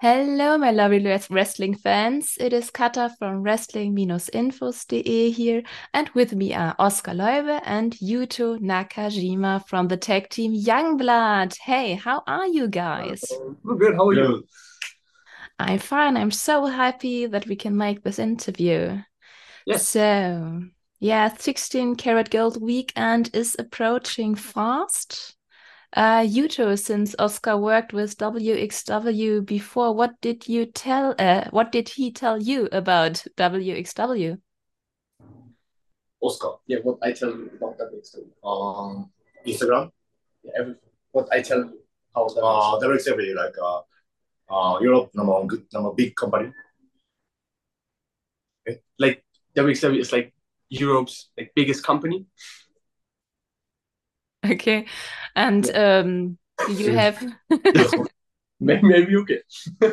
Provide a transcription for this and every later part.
Hello, my lovely wrestling fans. It is Kata from wrestling-infos.de here, and with me are Oscar Leube and Yuto Nakajima from the tag team Youngblood. Hey, how are you guys? Good. How are you? Hello. I'm fine. I'm so happy that we can make this interview. Yes. So, yeah, 16 Karat Gold weekend is approaching fast. Yuto, since Oscar worked with WXW before, what did he tell you about WXW? Oscar. Yeah, what I tell you about that next time. Instagram, Yeah, everything. What I tell you how that WXW, like Europe number big company. like WXW is like Europe's like biggest company. Okay. And Yeah. do you have Maybe okay.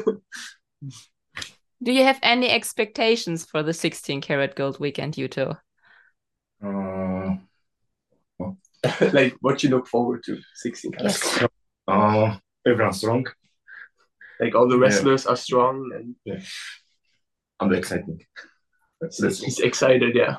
do you have any expectations for the 16 Karat Gold weekend, Yuto? Uh, Like what you look forward to 16 carats. Yes. Everyone strong. Like all the Yeah, wrestlers are strong and yeah. I'm excited. he's excited, yeah.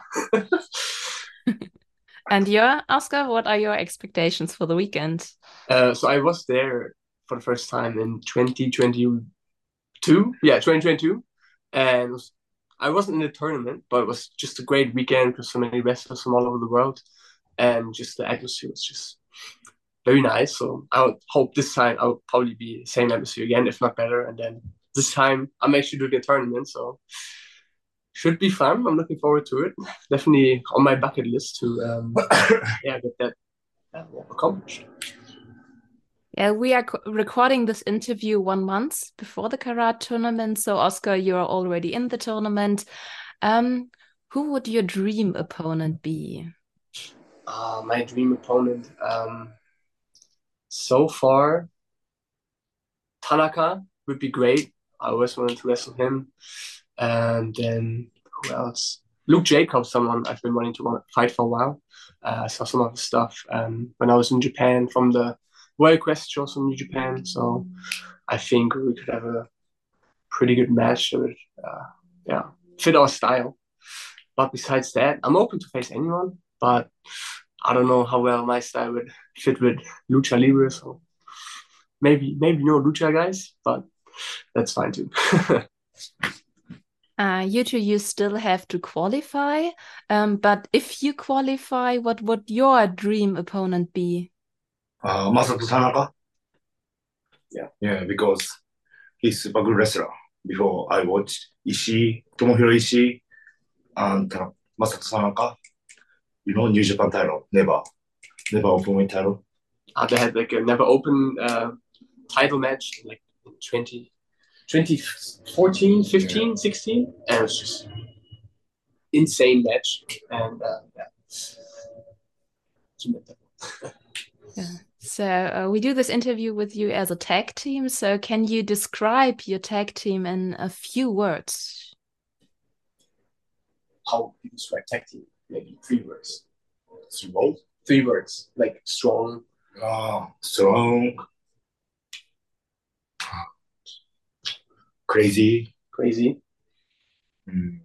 And your Oscar, what are your expectations for the weekend? So I was there for the first time in 2022. Yeah, 2022. And I wasn't in the tournament, but it was just a great weekend with so many wrestlers from all over the world. And just the atmosphere was just very nice. So I would hope this time I would probably be the same atmosphere again, if not better. And then this time I'm actually doing a tournament, so should be fun. I'm looking forward to it. Definitely on my bucket list to yeah, get that accomplished. Yeah, we are recording this interview 1 month before the Karat tournament. So, Oscar, you're already in the tournament. Um, who would your dream opponent be? My dream opponent. So far, Tanaka would be great. I always wanted to wrestle him. And then who else? Luke Jacobs, someone I've been wanting to fight for a while. I saw some of his stuff when I was in Japan from the World Quest shows from New Japan. So I think we could have a pretty good match that would, yeah, fit our style. But besides that, I'm open to face anyone. But I don't know how well my style would fit with Lucha Libre. So maybe no Lucha guys, but that's fine too. You two, you still have to qualify. But if you qualify, what would your dream opponent be? Masato Tanaka. Yeah. Yeah, because he's super good wrestler. Before I watched Ishii, Tomohiro Ishii, and Masato Tanaka. New Japan title. Never open weight title. They had like a never open title match like in 2014, 15, 16. And it was just insane match. And yeah. Yeah. So we do this interview with you as a tag team. So can you describe your tag team in a few words? How you describe tag team? Maybe 3 words. Strong. 3 words. Like strong, Strong, crazy, crazy, mm,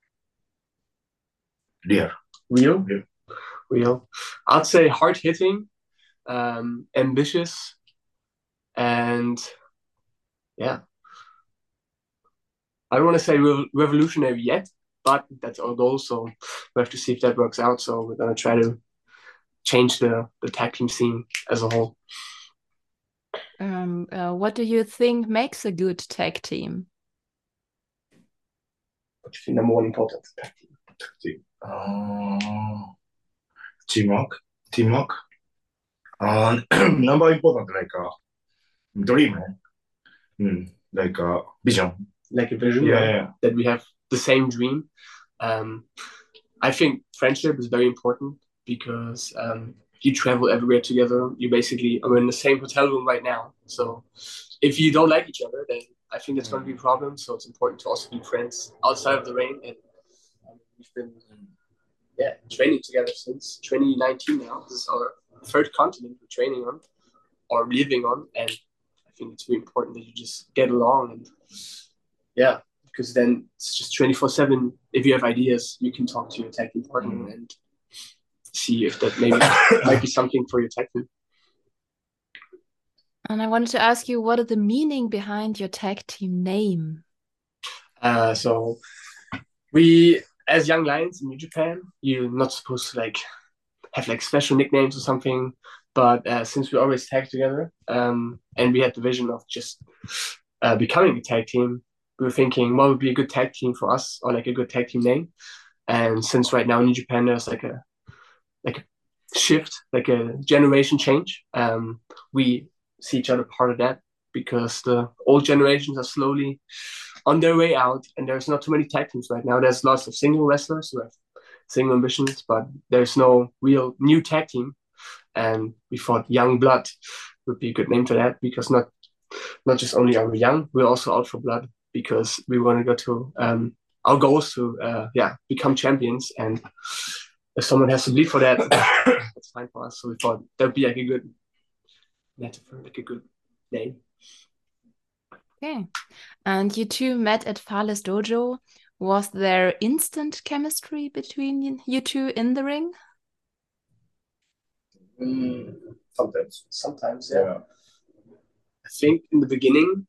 real. real, Real. real. I'd say hard hitting, ambitious, and yeah, I don't want to say revolutionary yet, but that's our goal. So we have to see if that works out. So we're gonna try to change the tag team scene as a whole. What do you think makes a good tag team? What do you think number one important tag team. Teamwork. Teamwork. Number important like dream. Like vision. Like a vision, Yeah, right? yeah. That we have the same dream. Um, I think friendship is very important because you travel everywhere together. You basically are in the same hotel room right now. So if you don't like each other, then I think that's going to be a problem. So it's important to also be friends outside of the ring. And we've been training together since 2019 now. This is our third continent we're training on or living on. And I think it's really important that you just get along, and yeah, because then it's just 24/7. If you have ideas, you can talk to your tag team partner and see if that maybe might be something for your tag team. And I wanted to ask you, what is the meaning behind your tag team name? So we, as Young Lions in New Japan, you're not supposed to like have like special nicknames or something. But since we always tag together, and we had the vision of just becoming a tag team, we were thinking what would be a good tag team for us, or like a good tag team name. And since right now in New Japan there's like a shift, like a generation change, we see each other part of that, because the old generations are slowly on their way out, and there's not too many tag teams right now. There's lots of single wrestlers who have single ambitions, but there's no real new tag team. And we thought Young Blood would be a good name for that, because not just only are we young, we're also out for blood, because we want to go to our goals to become champions. And if someone has to bleed for that, that's fine for us. So we thought that would be like a good metaphor, like a good name. Okay. And you two met at Fales Dojo. Was there instant chemistry between you two in the ring? Sometimes, yeah. I think in the beginning,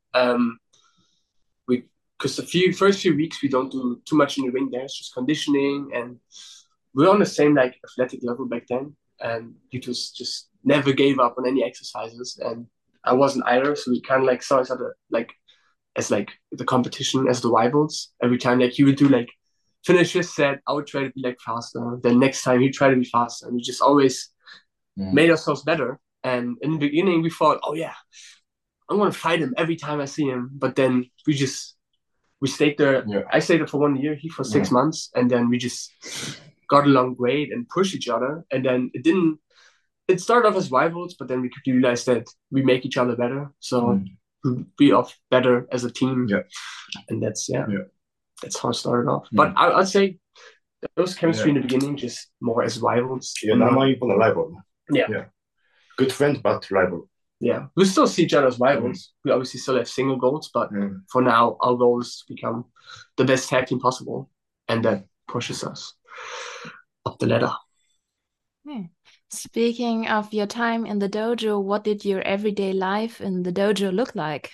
because the first few weeks we don't do too much in the ring. There, it's just conditioning, and we're on the same like athletic level back then. And you just never gave up on any exercises, and I wasn't either. So we kind of like saw each other like as like the competition, as the rivals. Every time like he would do like finish his set, I would try to be like faster. Then next time he'd try to be faster, and we just always made ourselves better. And in the beginning we thought, oh yeah, I'm gonna fight him every time I see him. But then we stayed there. Yeah. I stayed there for 1 year, he for 6 months, and then we just got along great and pushed each other. And then it started off as rivals, but then we could realize that we make each other better. So we'll be off better as a team. Yeah. And that's how it started off. But I'd say there was chemistry in the beginning, just more as rivals. Yeah, now you're a rival. Yeah. Good friend, but rival. Yeah, we still see each other as rivals. We obviously still have single goals, but for now, our goal is to become the best tag team possible, and that pushes us up the ladder. Okay. Speaking of your time in the dojo, what did your everyday life in the dojo look like?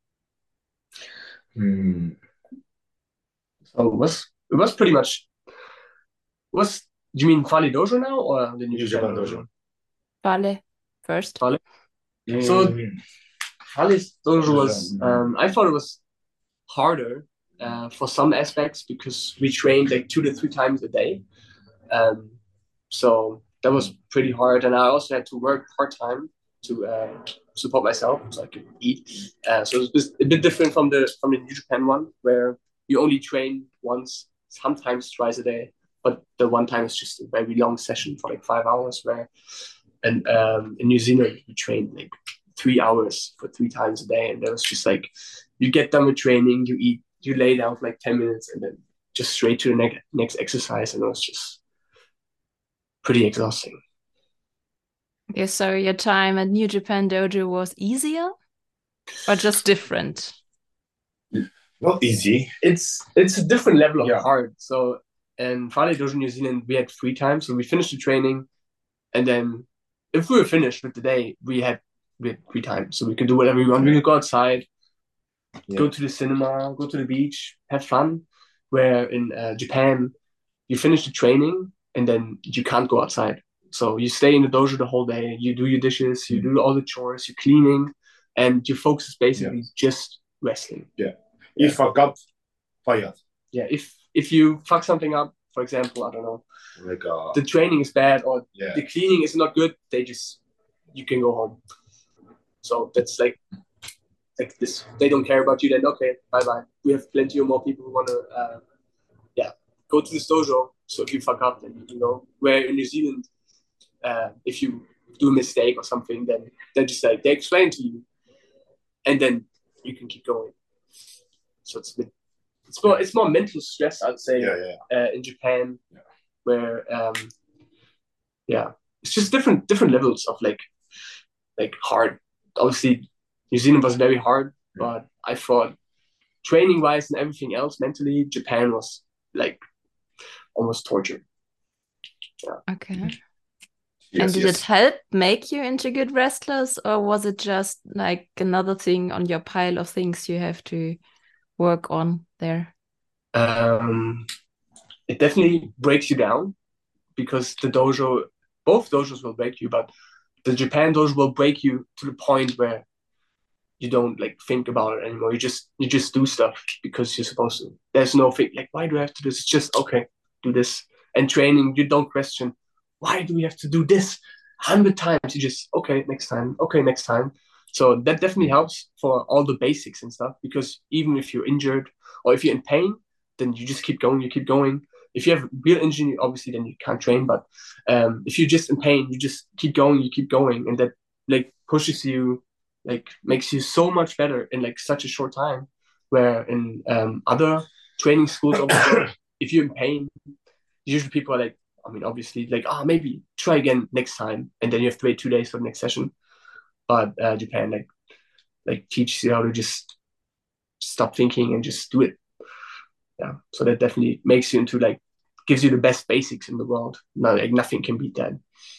So it was pretty much. Do you mean Fale Dojo now, or the New Japan Dojo? Fale first. Fale. So Fale's Dojo was. I thought it was harder for some aspects, because we trained like 2 to 3 times a day. So that was pretty hard, and I also had to work part-time to support myself so I could eat. So it was a bit different from the New Japan one, where you only train once, sometimes twice a day, but the one time is just a very long session for like 5 hours, in New Zealand we trained like 3 hours for 3 times a day, and it was just like you get done with training, you eat, you lay down for like 10 minutes, and then just straight to the next exercise, and it was just pretty exhausting. Okay, so your time at New Japan Dojo was easier or just different? Not easy. It's a different level of hard. So in Fale Dojo New Zealand, we had 3 times. So we finished the training, and then if we were finished with the day, we had 3 times. So we could do whatever we want. We could go outside, go to the cinema, go to the beach, have fun. Where in Japan, you finish the training and then you can't go outside. So you stay in the dojo the whole day. You do your dishes, you do all the chores, you're cleaning, and your focus is basically just wrestling. Yeah. You fuck up, fired. Yeah. If you fuck something up, for example, I don't know, like the training is bad or the cleaning is not good, you can go home. So that's like this. They don't care about you. Then okay, bye bye. We have plenty of more people who want to go to this dojo. So if you fuck up, then you can go. Where in New Zealand, if you do a mistake or something, then they're just like they explain to you, and then you can keep going. So it's more mental stress, I'd say. In Japan, where it's just different levels of like hard. Obviously, New Zealand was very hard, but I thought training wise and everything else mentally, Japan was like almost torture. Yeah. Okay. Yes, And did yes. it help make you into good wrestlers, or was it just like another thing on your pile of things you have to work on there? It definitely breaks you down because both dojos will break you, but the Japan dojo will break you to the point where you don't like think about it anymore. You just do stuff because you're supposed to. There's no thing like why do I have to do this? It's just okay, do this. And training, you don't question why do we have to do this 100 times. You just okay next time, okay next time. So that definitely helps for all the basics and stuff because even if you're injured or if you're in pain, then you just keep going, you keep going. If you have real injury, obviously then you can't train. But if you're just in pain, you just keep going, you keep going, and that like pushes you like makes you so much better in like such a short time. Where in other training schools, if you're in pain, usually people are like, I mean, obviously, like, maybe try again next time, and then you have to wait 2 days for the next session. But Japan like teaches you how to just stop thinking and just do it. Yeah, so that definitely makes you into like gives you the best basics in the world. No, like nothing can beat that.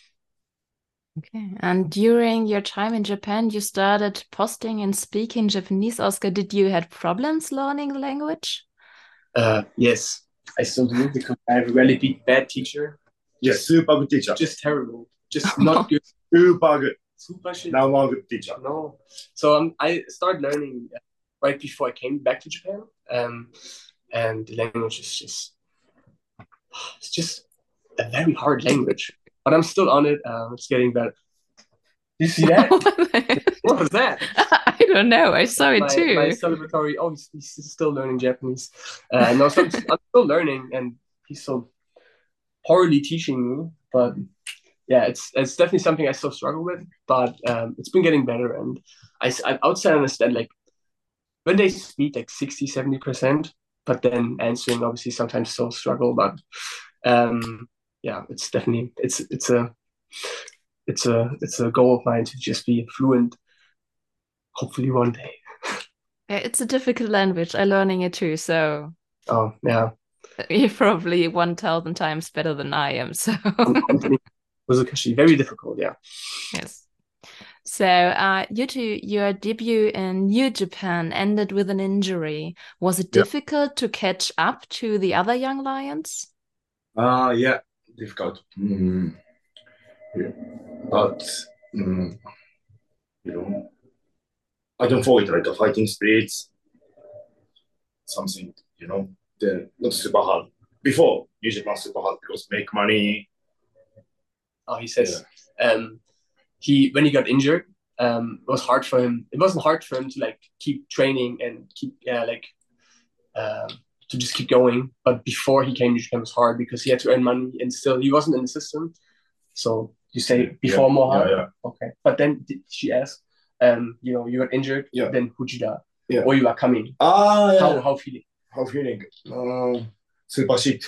Okay. And during your time in Japan, you started posting and speaking Japanese. Oscar, did you had problems learning the language? Yes, I still do because I have a really bad teacher. Yes, super good teacher. Just terrible. Just not good. Super good. Super shit. Now one good teacher. No. So I started learning right before I came back to Japan. And the language is it's just a very hard language. But I'm still on it. It's getting better. You see that? What was that? I don't know. I saw it too. My celebratory. Oh, he's still learning Japanese. No, so I'm still learning, and he's so poorly teaching me. But yeah, it's definitely something I still struggle with. But it's been getting better, and I outside understand like when they speak like 60-70%, but then answering obviously sometimes still struggle. But yeah, it's definitely it's a goal of mine to just be fluent. Hopefully one day. Yeah, it's a difficult language. I'm learning it too, so Oh yeah, you're probably 1,000 times better than I am. So was actually very difficult. Yeah. yes. So, Yuto, your debut in New Japan ended with an injury. Was it difficult to catch up to the other young lions? Yeah, difficult. Yeah. But you know, I don't forget like the fighting spirits, something, they're not super hard. Before, New Japan super hard because make money. Oh, he says, he when he got injured, it was hard for him. It wasn't hard for him to like keep training and keep to just keep going. But before he came to Japan, it was hard because he had to earn money and still he wasn't in the system. So you say before more hard? Yeah. Okay. But then she asked, you got injured, then Fujita, or you are coming. Yeah. How feeling? How feeling? Super shit.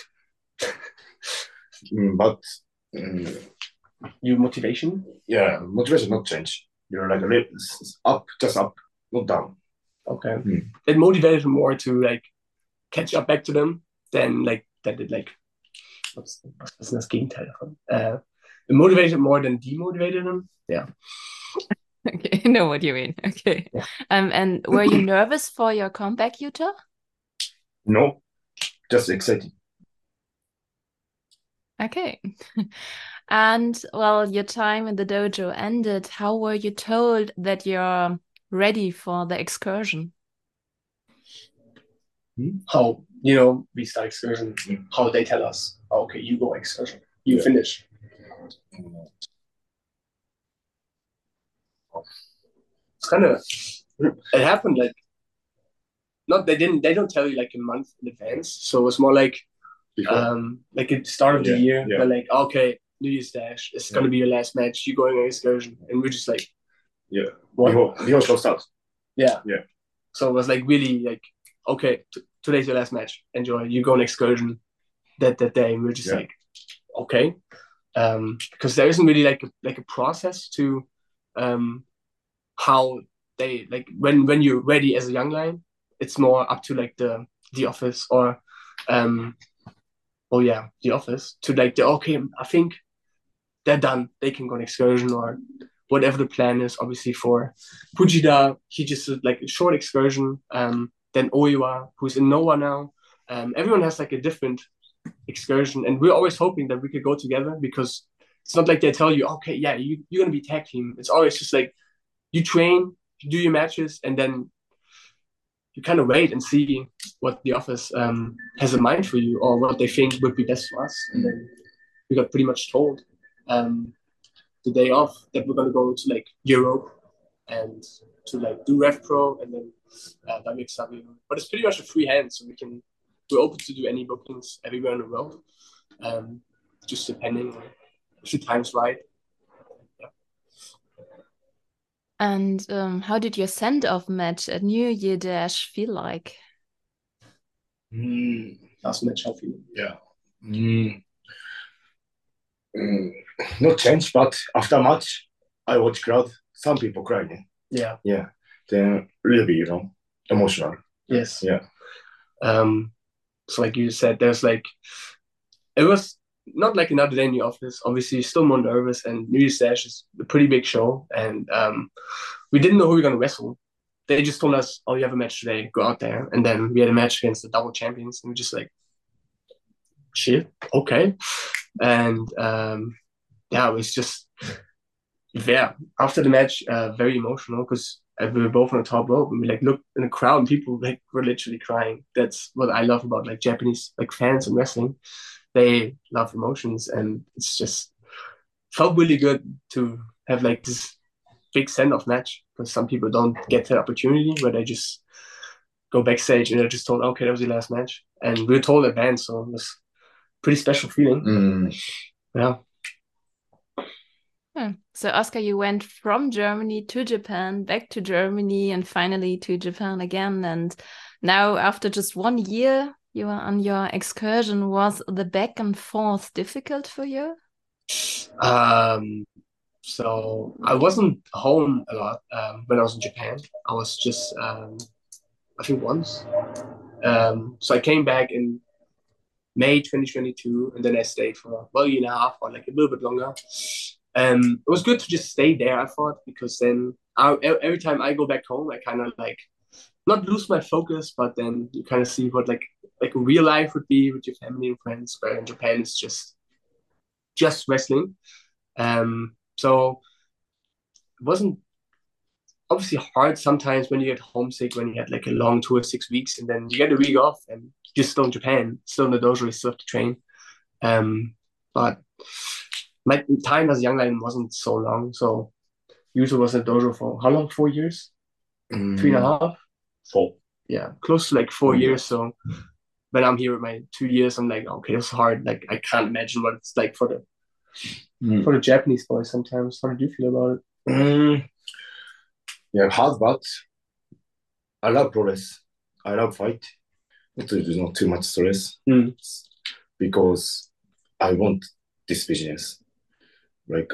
But your motivation? Yeah, motivation not change. You're like up, just up, not down. Okay. It motivated him more to like catch up back to them than like that did like what's das Gegenteil davon? It motivated more than demotivated him. Yeah. Okay, I know what you mean. Okay. Yeah. And were you nervous for your comeback, Yuto? No, just excited. Okay. And well, your time in the dojo ended. How were you told that you're ready for the excursion? How we start excursion? How they tell us? Oh, okay, you go excursion. You finish. It's kind of it happened like not they don't tell you like a month in advance. So it was more like like at the start of the year. They're like, okay, New Year's Dash. It's gonna be your last match. You're going on excursion, and we're just like, before show starts. Yeah. So it was like really like, okay, today's your last match. Enjoy. You go on excursion that day. And we're just like, okay, because there isn't really like a process to how they like when you're ready as a young lion, it's more up to like the office or the office to like okay, I think they're done. They can go on excursion or whatever the plan is. Obviously for Fujita, he just did like a short excursion. Then Oiwa, who's in Noah now. Everyone has like a different excursion, and we're always hoping that we could go together because it's not like they tell you, okay, yeah, you're gonna be tag team. It's always just like you train, you do your matches, and then you kind of wait and see what the office has in mind for you or what they think would be best for us. And then we got pretty much told the day off that we're gonna go to like Europe and to like do Rev Pro and then WXW. But it's pretty much a free hand, so we're open to do any bookings everywhere in the world, just depending on if the time's right. Yeah. And how did your send-off match at New Year Dash feel like? Last match, I feel. Yeah. Not change, but after match, I watch crowd. Some people crying. Yeah. Yeah. Then really, emotional. Yes. Yeah. So like you said, there's like it was not like another day in the office. Obviously, still more nervous, and New Year's Dash is a pretty big show, and we didn't know who we were gonna wrestle. They just told us, "Oh, you have a match today. Go out there." And then we had a match against the double champions, and we just like, "Shit, okay." And it was just after the match, very emotional because we were both on the top rope and we like looked in the crowd and people like were literally crying. That's what I love about like Japanese like fans and wrestling. They love emotions, and it's just felt really good to have like this big send-off match because some people don't get the opportunity where they just go backstage and they're just told, okay, that was your last match, and we were told advance, so it was a pretty special feeling. Yeah. So Oscar, you went from Germany to Japan, back to Germany, and finally to Japan again. And now, after just 1 year, you are on your excursion. Was the back and forth difficult for you? So I wasn't home a lot when I was in Japan. I was just, I think once. So I came back in May 2022, and then I stayed for a year and a half or like a little bit longer. It was good to just stay there, I thought, because then every time I go back home, I kind of like not lose my focus, but then you kind of see what like real life would be with your family and friends. Where in Japan it's just wrestling. So it wasn't obviously hard sometimes when you get homesick, when you had like a long tour, 6 weeks, and then you get a week off and you're still in Japan, still in the dojo, you still have to train. But my time as a young lion wasn't so long. So Yuto was in the dojo for how long? 4 years? 3.5? 4. Yeah, close to like 4 years. So when I'm here with my 2 years, I'm like, okay, it's hard. Like I can't imagine what it's like for the Japanese boys sometimes. How did you feel about it? Yeah, hard, but I love progress. I love fight. There's not too much stress because I want this business. Like,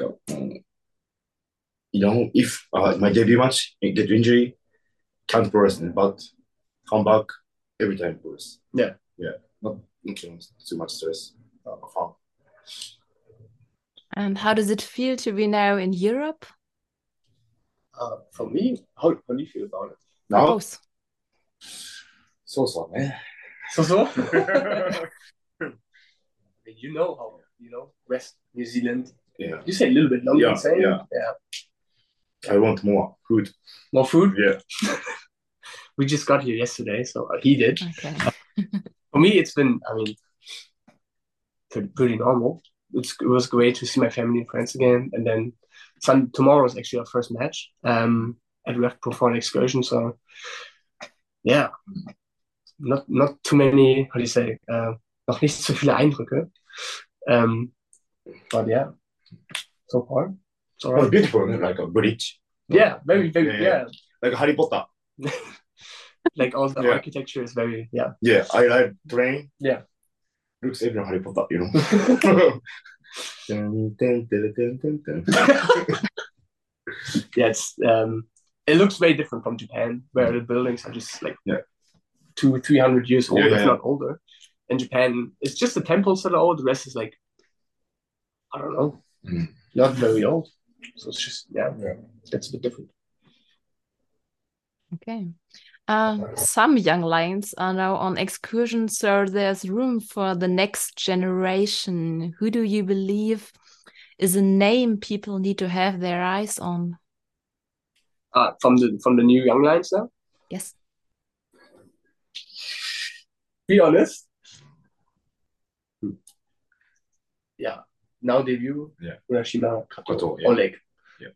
if my debut match get injury, can't progress, but come back every time progress. Yeah. Not too much stress. Fun. And how does it feel to be now in Europe? For me, how do you feel about it? Now? Both. So, man. So? You know how, West New Zealand. Yeah. You say a little bit longer than saying. Yeah. I want more food. More food? Yeah. We just got here yesterday, so he did. Okay. For me, it's been, pretty normal. It was great to see my family and friends again. And then tomorrow is actually our first match at Rev Pro for an excursion. So, yeah, not too many, how do you say, noch nicht so viele Eindrücke. But yeah, so far, it's all right. It's beautiful, like a bridge. Yeah, very, very, yeah. Like Harry Potter. Like all the architecture is very, Yeah, I like train. Yeah. Looks even Harry Potter, Yeah, it's it looks very different from Japan, where the buildings are just like Yeah. 200-300 years old, Yeah, if yeah. not older. In Japan, it's just the temples that are old. The rest is like, I don't know, not very old. So it's just, yeah, that's a bit different. Okay. Some young lions are now on excursion, so there's room for the next generation. Who do you believe is a name people need to have their eyes on? From the new young lions now. Yes. Be honest. Yeah. Now debut. Yeah. Urashima, Kato, yeah. Oleg. Yeah.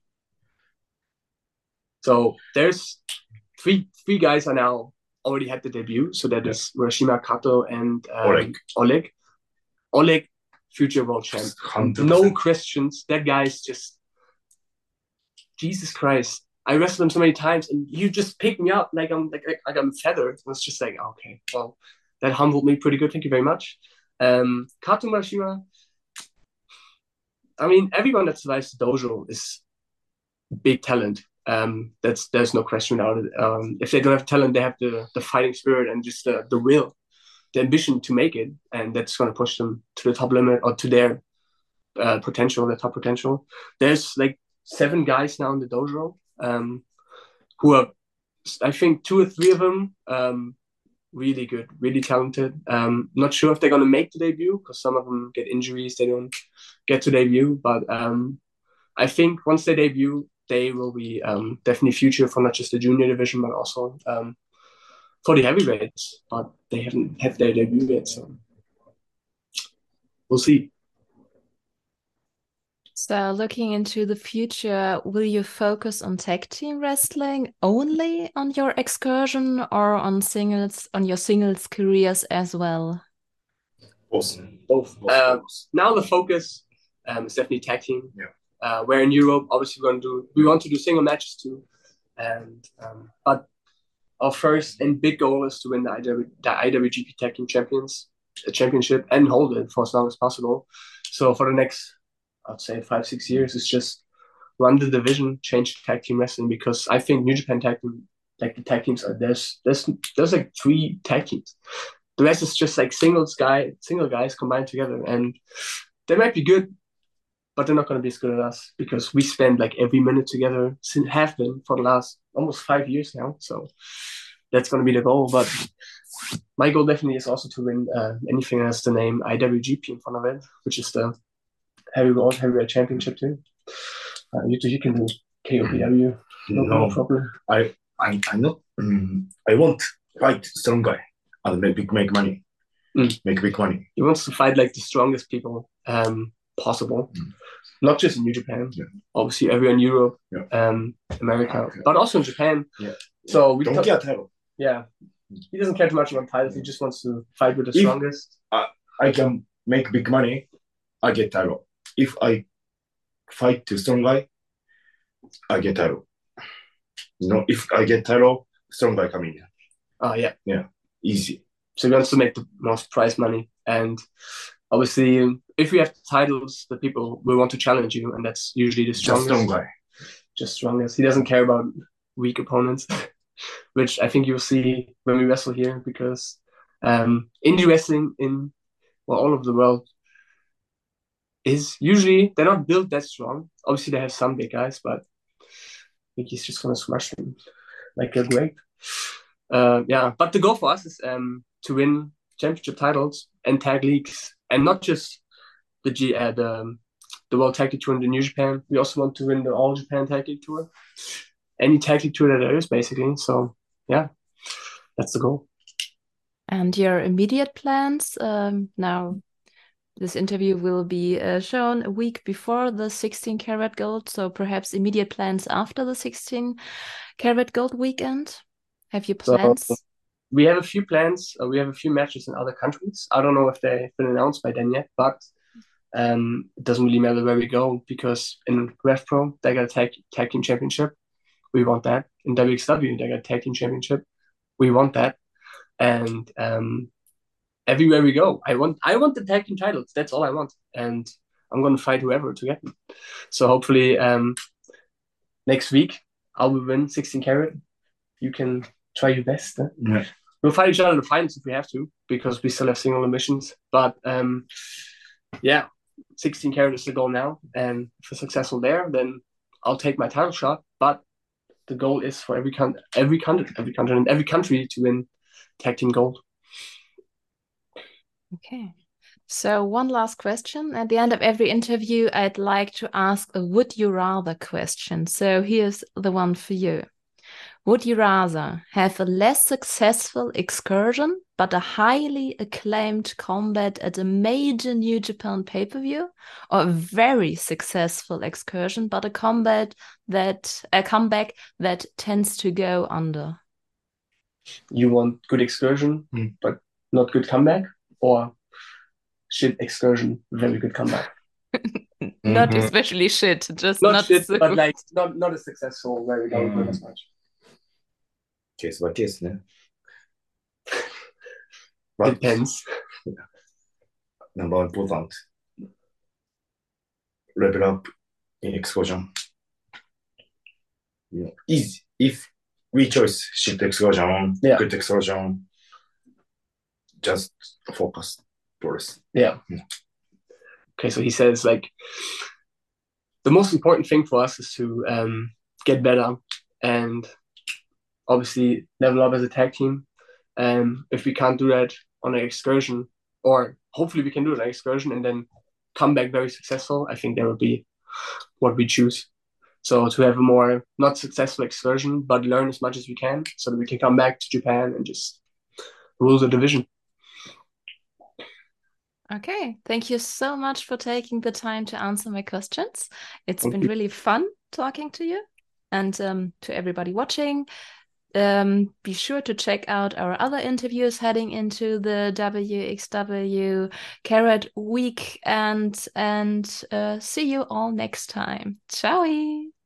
So there's three guys are now already had the debut. So that is Urashima, Kato, and Oleg. Oleg, future world champ. 100%. No questions. That guy's just Jesus Christ. I wrestled him so many times, and you just pick me up like I'm feathered. It was just like, okay, well, that humbled me pretty good. Thank you very much. Kato Urashima. I mean, everyone that survives the dojo is big talent. There's no question about it. If they don't have talent, they have the fighting spirit and just the will, the ambition to make it, and that's going to push them to the top limit or to their potential, their top potential. There's like 7 guys now in the dojo who are, I think 2 or 3 of them really good, really talented. Not sure if they're going to make the debut because some of them get injuries, they don't get to debut. But I think once they debut, they will be definitely future for not just the junior division, but also for the heavyweights. But they haven't had their debut yet, so we'll see. So looking into the future, will you focus on tag team wrestling only on your excursion or on your singles careers as well? Both. Now the focus is definitely tag team. Yeah. Where in Europe, obviously we want to do single matches too, and but our first and big goal is to win the IWGP Tag Team Championship and hold it for as long as possible. So for the next, I'd say 5-6 years, it's just run the division, change tag team wrestling, because I think New Japan tag team, like the tag teams are there's like 3 tag teams. The rest is just like single guys combined together, and they might be good, but they're not going to be as good as us because we spend like every minute together, have been for the last almost 5 years now. So that's going to be the goal. But my goal definitely is also to win anything that has the name IWGP in front of it, which is the heavyweight championship too. You can do KOPW, no problem. I not. I want fight strong guy and make money. Make big money. He wants to fight like the strongest people possible. Not just in New Japan, obviously everywhere in Europe, America, but also in Japan. Yeah. So we don't care title. Yeah, he doesn't care too much about titles. He just wants to fight with the strongest. I can make big money, I get title. If I fight to strong guy, I get title. If I get title, strong guy coming in. Yeah, easy. So he wants to make the most prize money, and obviously, if we have titles, the people will want to challenge you, and that's usually the strongest. Just strong guy. Just strongest. He doesn't care about weak opponents, which I think you'll see when we wrestle here, because indie wrestling in all over the world is usually, they're not built that strong. Obviously, they have some big guys, but I think he's just going to smash them like a grape. But the goal for us is to win championship titles and tag leagues, and not just the World Tag League Tour in the New Japan. We also want to win the All Japan Tag League Tour, any tag league tour that there is, basically. So yeah, that's the goal. And your immediate plans? Now, this interview will be shown a week before the 16 Karat Gold, so perhaps immediate plans after the 16 Karat Gold weekend. Have you plans? So, we have a few plans. We have a few matches in other countries. I don't know if they've been announced by then yet, but it doesn't really matter where we go, because in RevPro, they got a tag team championship. We want that. In WXW, they got a tag team championship. We want that. And everywhere we go, I want the tag team titles. That's all I want. And I'm going to fight whoever to get them. So hopefully next week, I will win 16 carat. You can try your best. Yeah. We'll fight each other in the finals if we have to, because we still have single emissions. But yeah, 16 carat is the goal now. And if we're successful there, then I'll take my title shot. But the goal is for every continent and every country to win tag team gold. Okay. So one last question. At the end of every interview, I'd like to ask a would you rather question. So here's the one for you. Would you rather have a less successful excursion, but a highly acclaimed combat at a major New Japan pay-per-view, or a very successful excursion, but a comeback that tends to go under? You want good excursion, but not good comeback, or shit excursion, very good comeback? Not especially shit, just Not not shit, so but like not as successful, where we don't win as much. ケースバイケースね。 Depends. Number one important. Level up in excursion. You know, easy. If we choose shit excursion, Yeah. good excursion, just focus first. Yeah. Okay, so he says like the most important thing for us is to get better and obviously level up as a tag team. If we can't do that on an excursion, or hopefully we can do it on an excursion and then come back very successful, I think that would be what we choose. So to have a more not successful excursion, but learn as much as we can so that we can come back to Japan and just rule the division. Okay, thank you so much for taking the time to answer my questions. It's Thank been you. really fun talking to you. And to everybody watching, be sure to check out our other interviews heading into the WXW Carat week and see you all next time. Ciao!